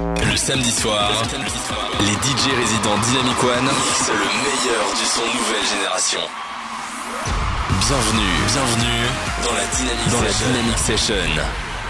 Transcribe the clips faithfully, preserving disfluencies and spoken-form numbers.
Le samedi soir, les D J résidents Dynamic One mixent le meilleur du son nouvelle génération. Bienvenue, bienvenue dans la Dynamic dans Session. La Dynamic Session.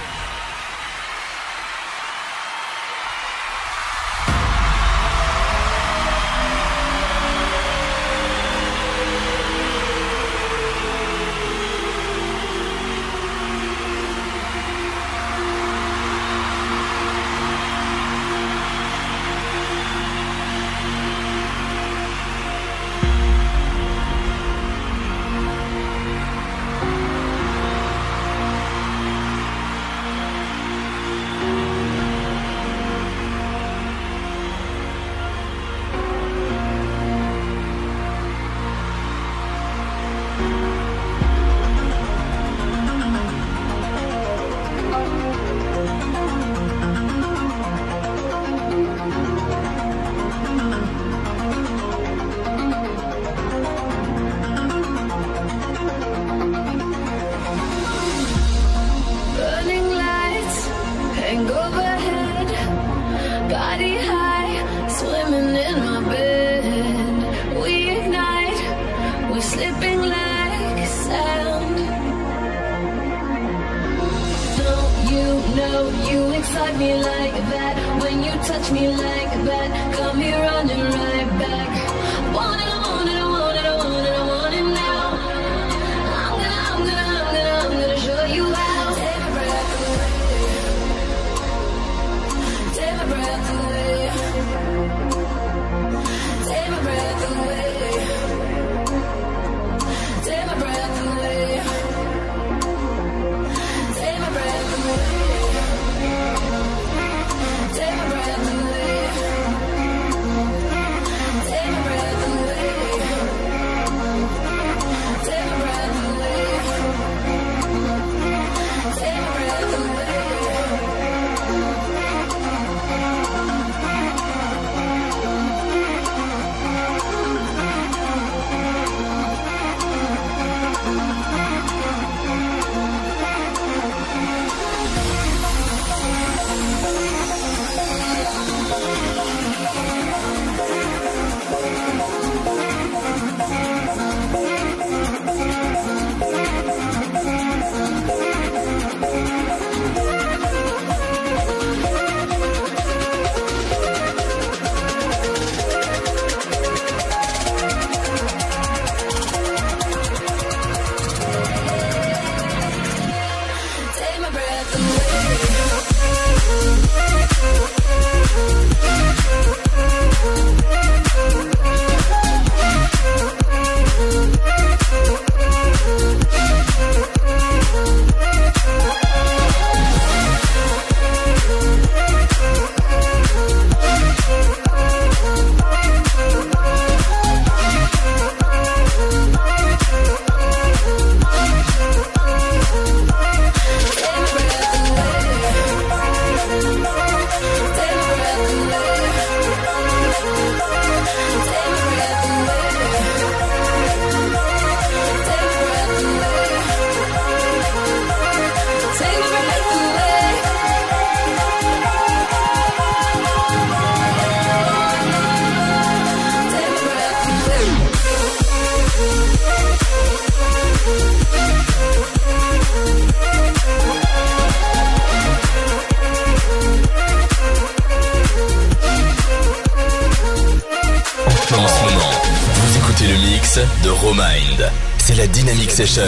De Romind, c'est la Dynamic Session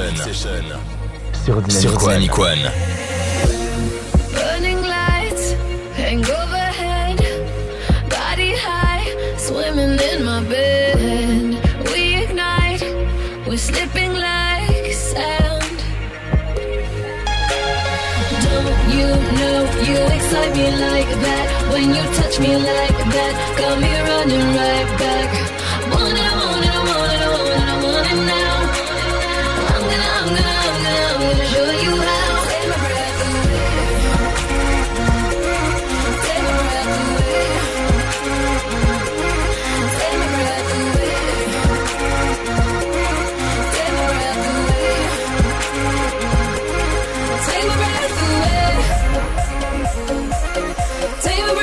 sur Dynamic, sur Dynamic One. One. Burning lights hang overhead, body high, swimming in my bed. We ignite, we're slipping like sand. Don't you know you excite me like that? When you touch me like that, got me running right back. Want it, I want it, I want it, I want it, I want it now. I'm gonna, I'm gonna, I'm gonna, I'm gonna show you how. Take my breath away. Take my breath away. Take my breath away. Take my breath away. Take my breath away. Take my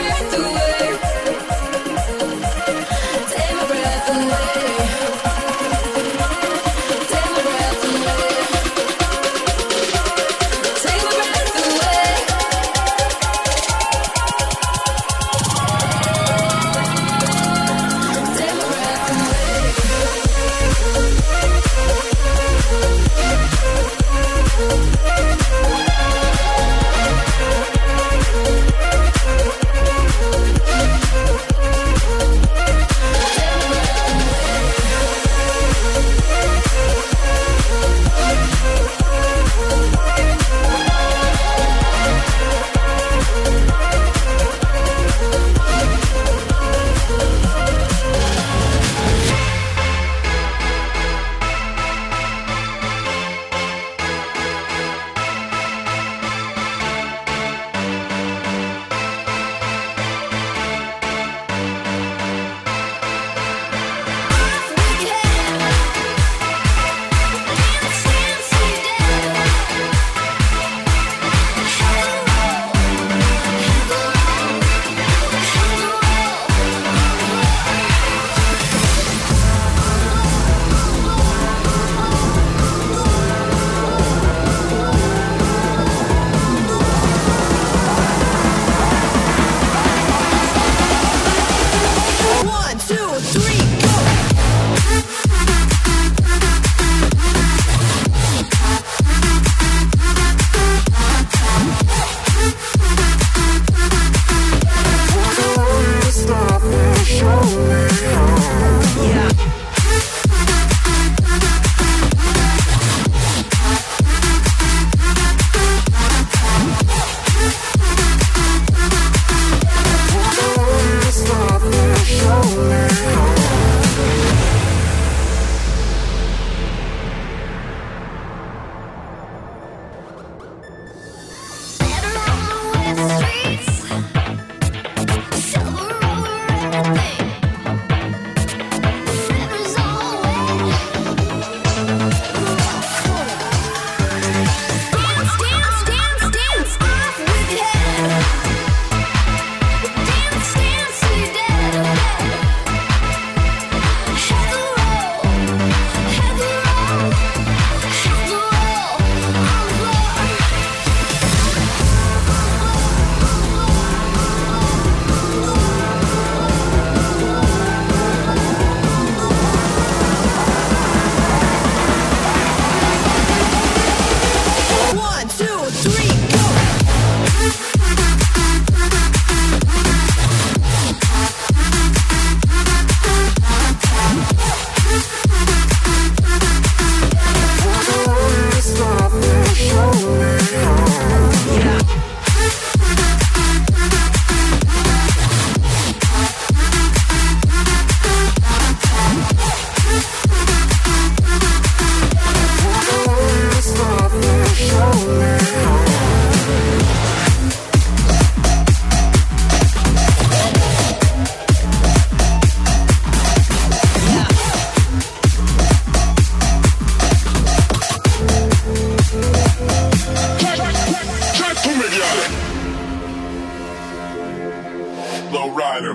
Low rider.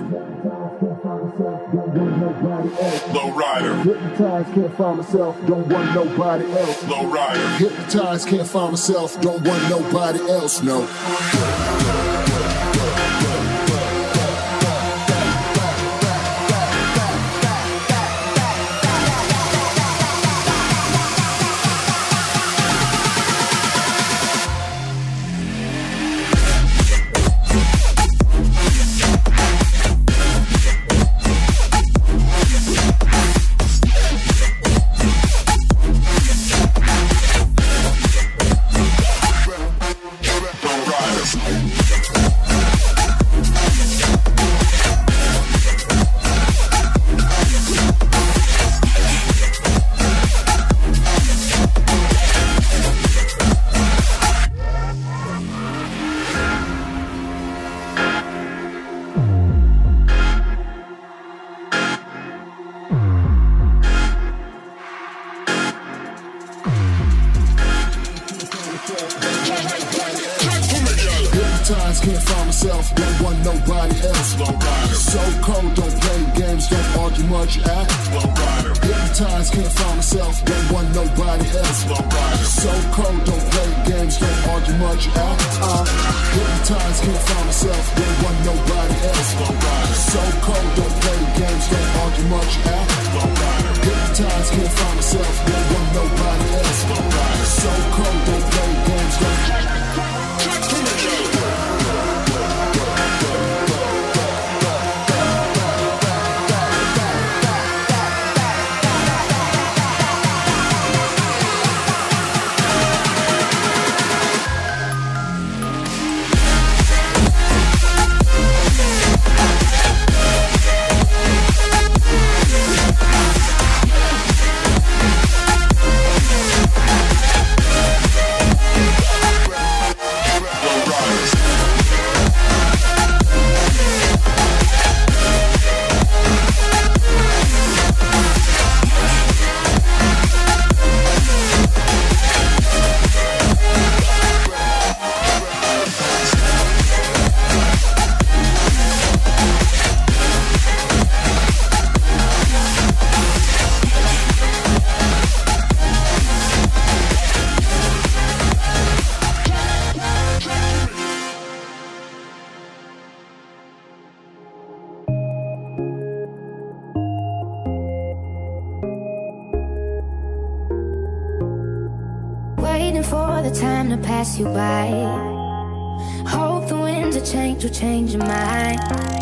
Low rider. Hypnotized, can't find myself, don't want nobody else. Low rider. Hypnotized, can't find myself, don't want nobody else, no. Can't find myself, don't want nobody else. Low rider. So cold, don't play games, don't argue much, act. Low rider. Hypnotized, can't find myself, don't want nobody else. Low rider. So cold, don't play games, don't argue much, act. Uh, hypnotized, can't find myself, don't want nobody else. Low rider. So cold, don't play games, don't argue much, act. Low rider. Hypnotized, can't find myself, don't want nobody else. Low rider. So cold, don't play games, don't. For the time to pass you by, hope the winds of change will change your mind.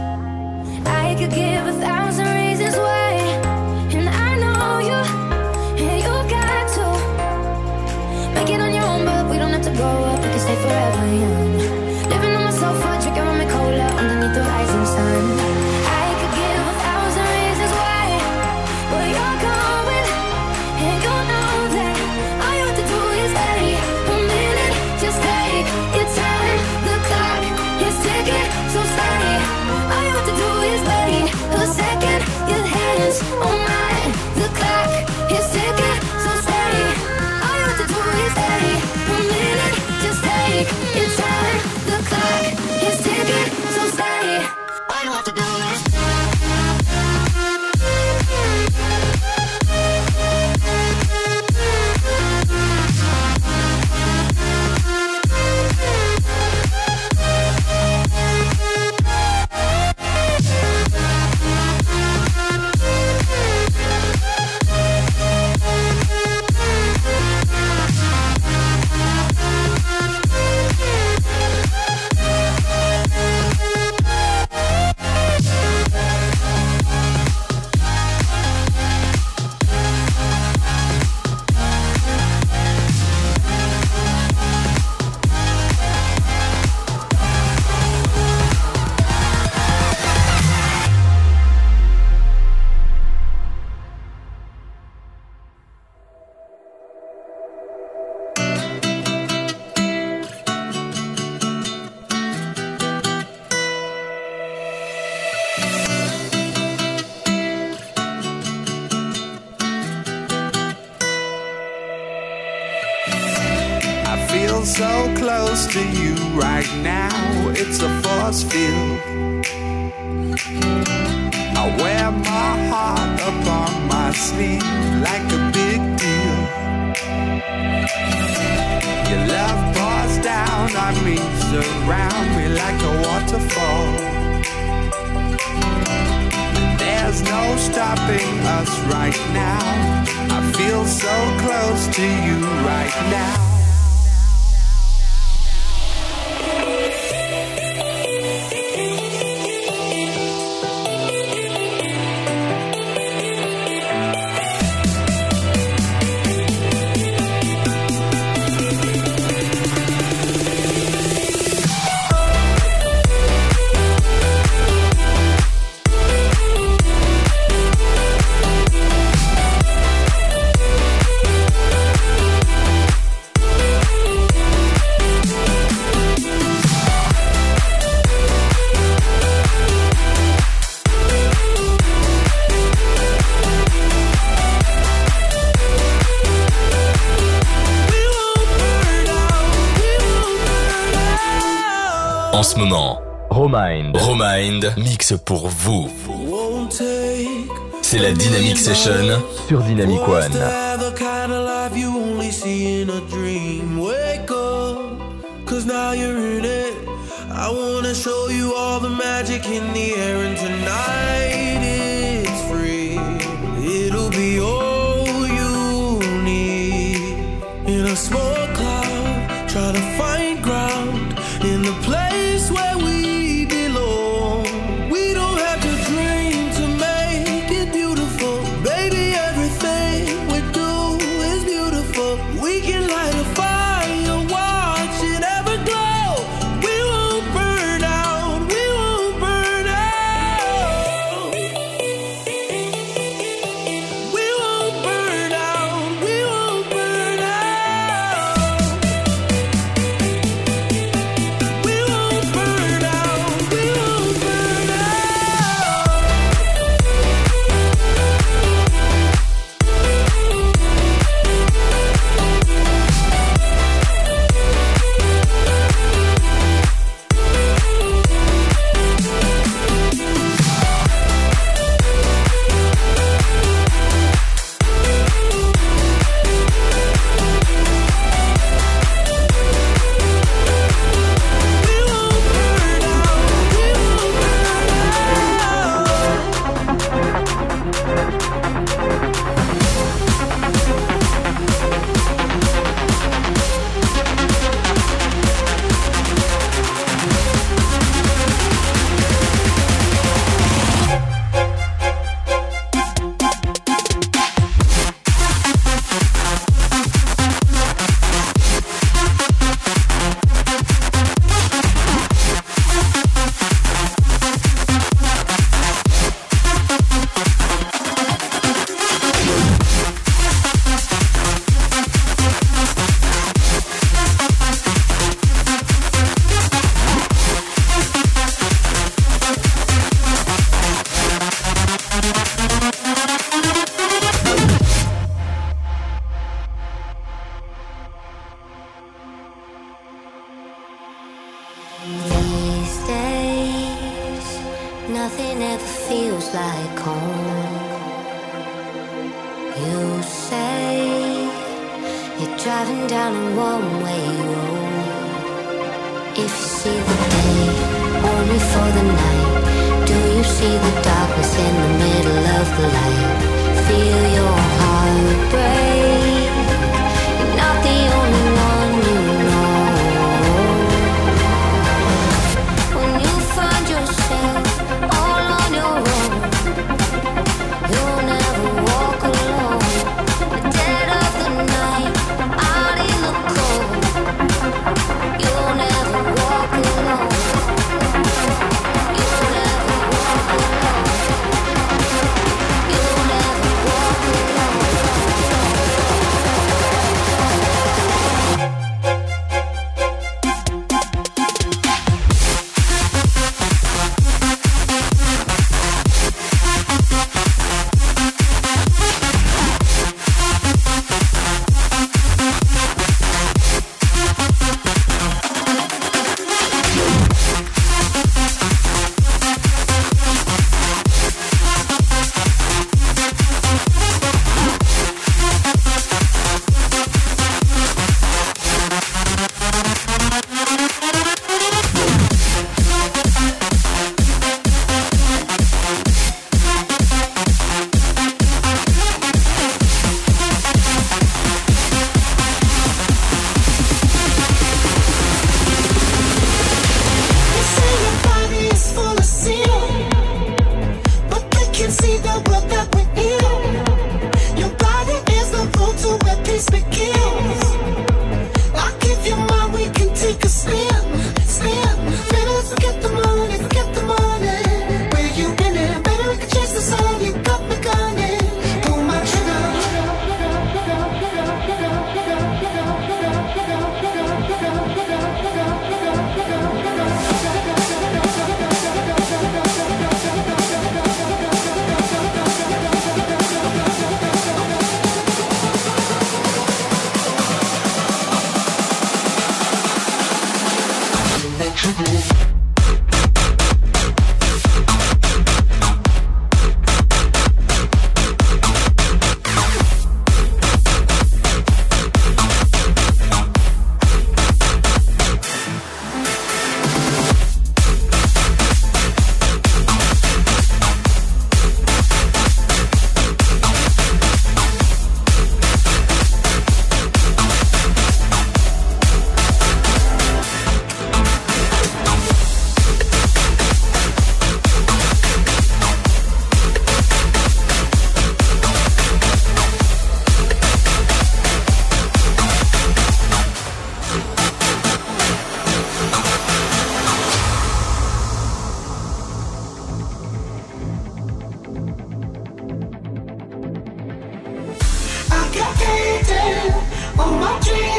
I could give a thousand reasons why, and I know you, and you got to make it on your own, but we don't have to grow up, we can stay forever young. Living on my sofa, drinking rum and cola underneath the rising sun. I could give a thousand reasons why, but you're going, and you know that all you have to do is stay a minute, just take your time. The clock is ticking, so stay. All you have to do is wait a second. Your hands on mine. The clock is ticking, so stay. All you have to do is stay a minute, just take your time. The clock is ticking, so stay. All you have to do is. So close to you right now, it's a force field. my sleeve like a big deal. Your love pours down on me, surround me like a waterfall. There's no stopping us right now. I feel so close to you right now. En ce moment, Romind, Romind mixe pour vous. C'est la Dynamic Session sur Dynamic One. Cause now you're in it. I wanna show you all the magic in the air, and tonight it's free. It'll be all you need. In a small cloud, try to find ground in the place where we belong. We don't have to dream to make it beautiful. Baby, everything we do is beautiful. We can light a fire, watch it ever glow. We won't burn out, we won't burn out. We won't burn out, we won't burn out. We won't burn out, we won't burn These days, nothing ever feels like home. You say you're driving down a one-way road. If you see the day only for the night, do you see the darkness in the middle of the light? Feel your heart break. You're not the only one you know. When you find yourself all on your own, you'll never walk alone. The dead of the night, out in the cold, you'll never walk alone. You'll never walk alone. You'll never walk alone.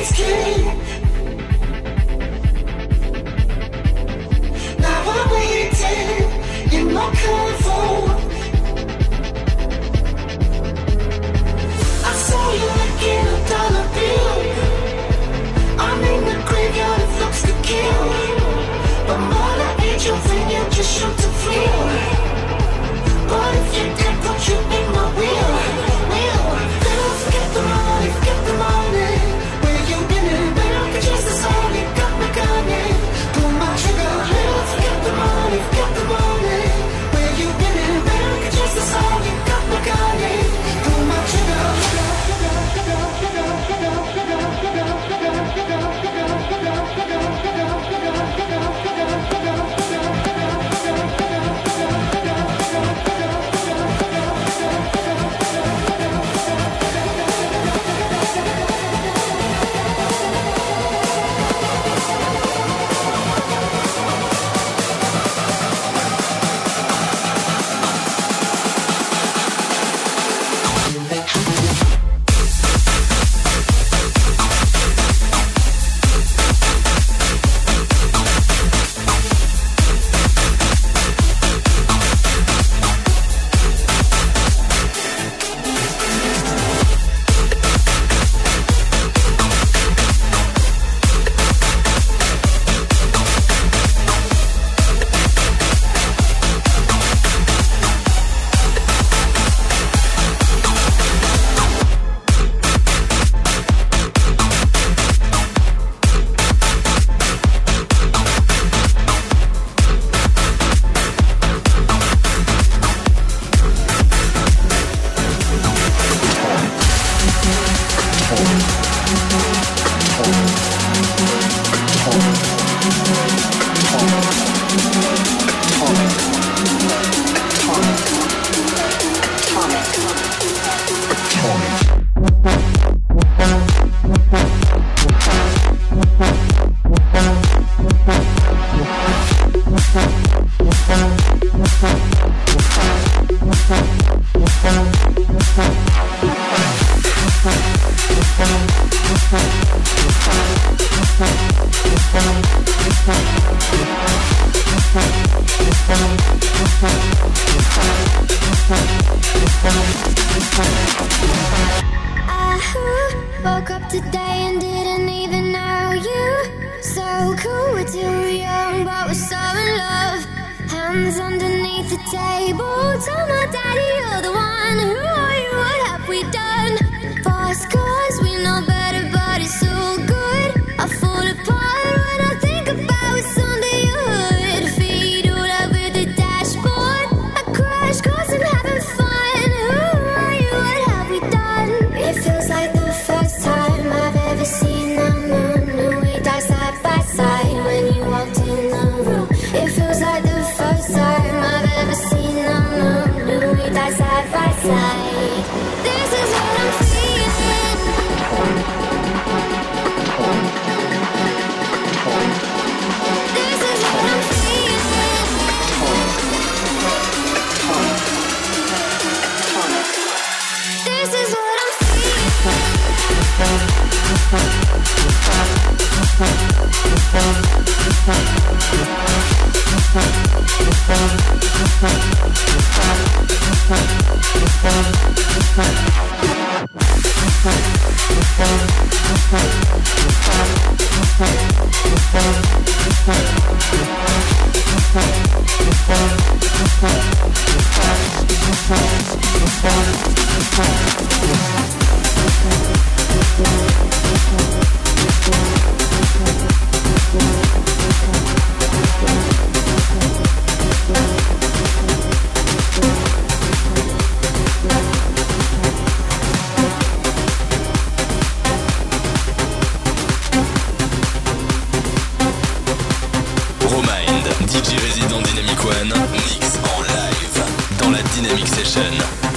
D J résident Dynamic One, mix en live dans la Dynamic Session.